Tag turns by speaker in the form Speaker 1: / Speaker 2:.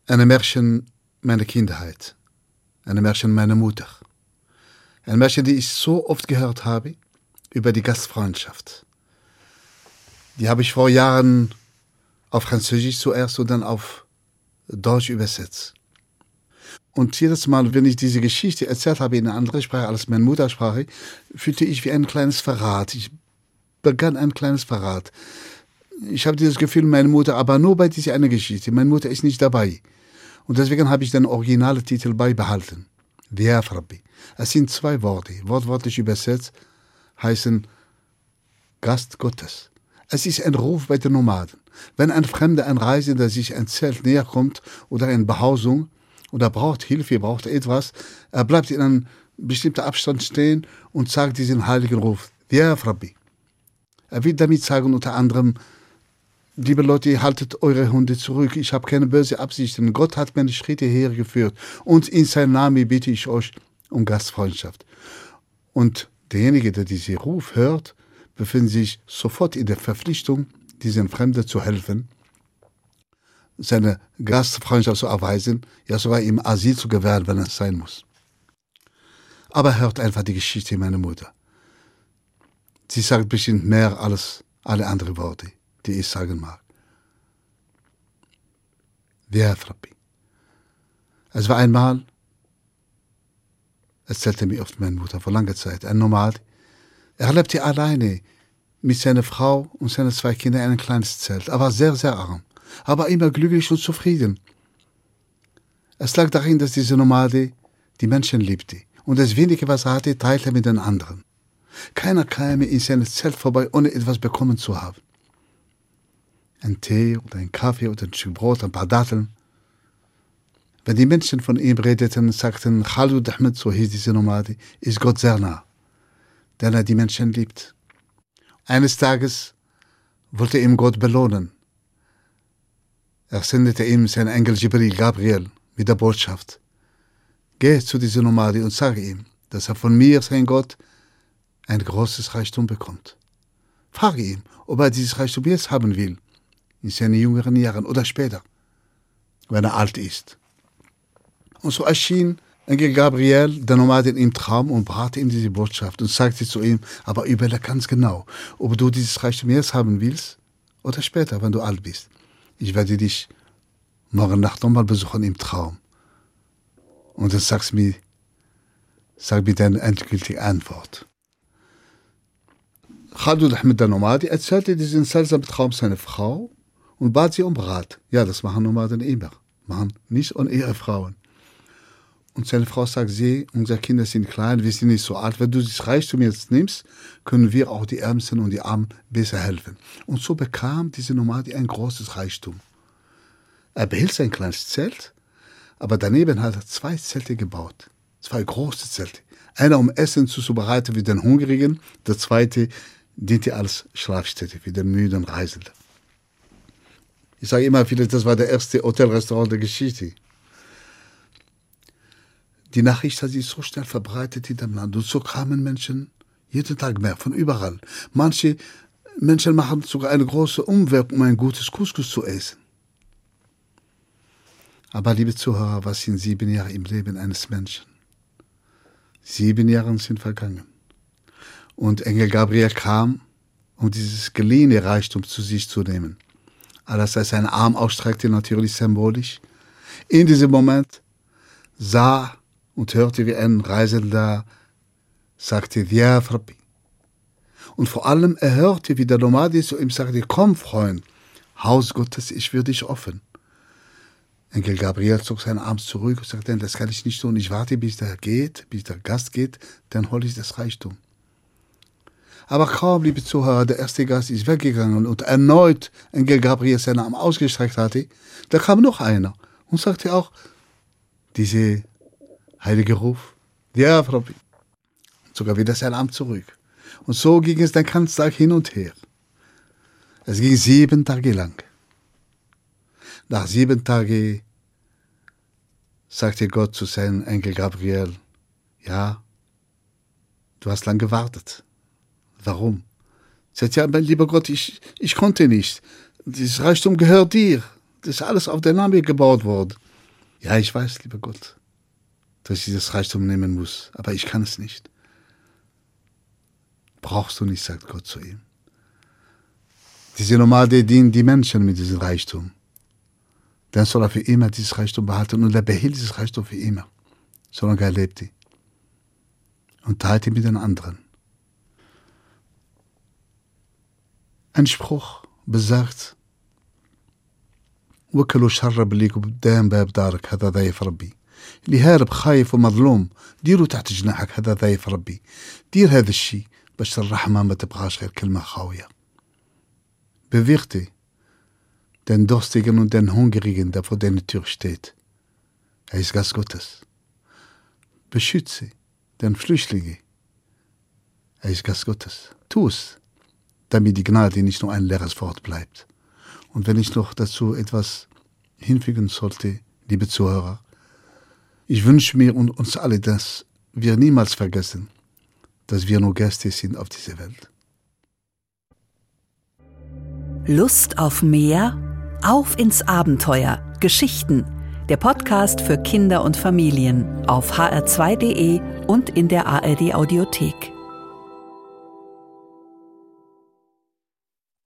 Speaker 1: Ein Märchen meiner Kindheit. Ein Märchen meiner Mutter. Ein Märchen, die ich so oft gehört habe, über die Gastfreundschaft. Die habe ich vor Jahren auf Französisch zuerst und dann auf Deutsch übersetzt. Und jedes Mal, wenn ich diese Geschichte erzählt habe in einer anderen Sprache als meine Muttersprache, fühlte ich wie ein kleines Verrat. Ich begann ein kleines Verrat. Ich habe dieses Gefühl, meine Mutter, aber nur bei dieser eine Geschichte. Meine Mutter ist nicht dabei. Und deswegen habe ich den originalen Titel beibehalten. Diaf Rabbi. Es sind 2 Worte. Wortwörtlich übersetzt heißen Gast Gottes. Es ist ein Ruf bei den Nomaden. Wenn ein Fremder, ein Reisender sich ein Zelt näher kommt oder eine Behausung oder braucht Hilfe, braucht etwas, er bleibt in einem bestimmten Abstand stehen und sagt diesen heiligen Ruf. Diaf Rabbi. Er will damit sagen unter anderem, liebe Leute, haltet eure Hunde zurück. Ich habe keine böse Absichten. Gott hat meine Schritte hergeführt. Und in seinem Namen bitte ich euch um Gastfreundschaft. Und derjenige, der diesen Ruf hört, befindet sich sofort in der Verpflichtung, diesem Fremden zu helfen, seine Gastfreundschaft zu erweisen, ja sogar ihm Asyl zu gewähren, wenn es sein muss. Aber hört einfach die Geschichte meiner Mutter. Sie sagt bestimmt mehr als alle anderen Worte, die ich sagen mag. Diaf Rabbi. Es war einmal, erzählte mir oft meine Mutter vor langer Zeit, ein Nomad. Er lebte alleine mit seiner Frau und seinen 2 Kindern in einem kleines Zelt. Er war sehr, sehr arm, aber immer glücklich und zufrieden. Es lag darin, dass dieser Nomade die Menschen liebte und das Wenige, was er hatte, teilte er mit den anderen. Keiner kam in seinem Zelt vorbei, ohne etwas bekommen zu haben. Ein Tee oder ein Kaffee oder ein Stück Brot, ein paar Datteln. Wenn die Menschen von ihm redeten, sagten, Khalud Ahmed, so hieß diese Nomade, ist Gott sehr nah, denn er die Menschen liebt. Eines Tages wollte ihm Gott belohnen. Er sendete ihm seinen Engel Jibril Gabriel mit der Botschaft. Geh zu diesem Nomade und sage ihm, dass er von mir, sein Gott, ein großes Reichtum bekommt. Frage ihn, ob er dieses Reichtum jetzt haben will, in seinen jüngeren Jahren oder später, wenn er alt ist. Und so erschien Engel Gabriel, der Nomade, im Traum und brachte ihm diese Botschaft und sagte zu ihm, aber überlege ganz genau, ob du dieses Reichtum jetzt haben willst oder später, wenn du alt bist. Ich werde dich morgen Nacht nochmal besuchen im Traum. Und dann sag mir deine endgültige Antwort. Khalud Ahmed, der Nomade, erzählte diesen seltsamen Traum seiner Frau und bat sie um Rat. Ja, das machen Nomaden immer. Machen nicht ohne ihre Frauen. Und seine Frau sagt, unsere Kinder sind klein, wir sind nicht so alt. Wenn du das Reichtum jetzt nimmst, können wir auch die Ärmsten und die Armen besser helfen. Und so bekam diese Nomade ein großes Reichtum. Er behielt sein kleines Zelt, aber daneben hat er 2 Zelte gebaut. 2 große Zelte. Einer, um Essen zuzubereiten für den Hungrigen, der zweite diente als Schlafstätte für den müden Reisenden. Ich sage immer wieder, das war der erste Hotelrestaurant der Geschichte. Die Nachricht hat sich so schnell verbreitet in dem Land und so kamen Menschen jeden Tag mehr, von überall. Manche Menschen machen sogar eine große Umweg, um ein gutes Couscous zu essen. Aber liebe Zuhörer, was sind 7 Jahre im Leben eines Menschen? 7 Jahre sind vergangen. Und Engel Gabriel kam, um dieses geliehene Reichtum zu sich zu nehmen. Als er seinen Arm ausstreckte, natürlich symbolisch. In diesem Moment sah und hörte, wie ein Reisender sagte, Diaf Rabbi. Und vor allem, er hörte, wie der Nomade zu ihm sagte, komm, Freund, Haus Gottes, ich für dich offen. Engel Gabriel zog seinen Arm zurück und sagte, das kann ich nicht tun, ich warte, bis der Gast geht, dann hole ich das Reichtum. Aber kaum, liebe Zuhörer, der erste Gast ist weggegangen und erneut Engel Gabriel seinen Arm ausgestreckt hatte, da kam noch einer und sagte auch, diese heilige Ruf, ja, Rabbi, und sogar wieder seinen Arm zurück. Und so ging es den ganzen Tag hin und her. Es ging 7 Tage lang. Nach 7 Tagen sagte Gott zu seinem Engel Gabriel, ja, du hast lang gewartet. Warum? Sagt, ja, mein lieber Gott, ich konnte nicht. Das Reichtum gehört dir. Das ist alles auf den Namen gebaut worden. Ja, ich weiß, lieber Gott, dass ich dieses Reichtum nehmen muss, aber ich kann es nicht. Brauchst du nicht, sagt Gott zu ihm. Diese Nomade dienen die Menschen mit diesem Reichtum. Dann soll er für immer dieses Reichtum behalten und er behält dieses Reichtum für immer, solange er lebt. Und teilt ihn mit den anderen. Ein Spruch besagt, وكلوا الشر اللي قدام باب دارك هذا ضيف ربي. اللي هارب خايف ومظلوم ديروا تحت جناحك هذا ضيف ربي. دير هذا الشيء باش الرحمة ما تبقاش غير كلمة خاوية. Bewirk dich, den Durstigen und den Hungrigen, der vor deiner Tür steht. Er ist Gast Gottes. Beschütze den Flüchtlingen. Er ist Gast Gottes. Tu es, damit die Gnade nicht nur ein leeres Wort bleibt. Und wenn ich noch dazu etwas hinfügen sollte, liebe Zuhörer, ich wünsche mir und uns alle, dass wir niemals vergessen, dass wir nur Gäste sind auf dieser Welt.
Speaker 2: Lust auf mehr? Auf ins Abenteuer. Geschichten. Der Podcast für Kinder und Familien auf hr2.de und in der ARD Audiothek.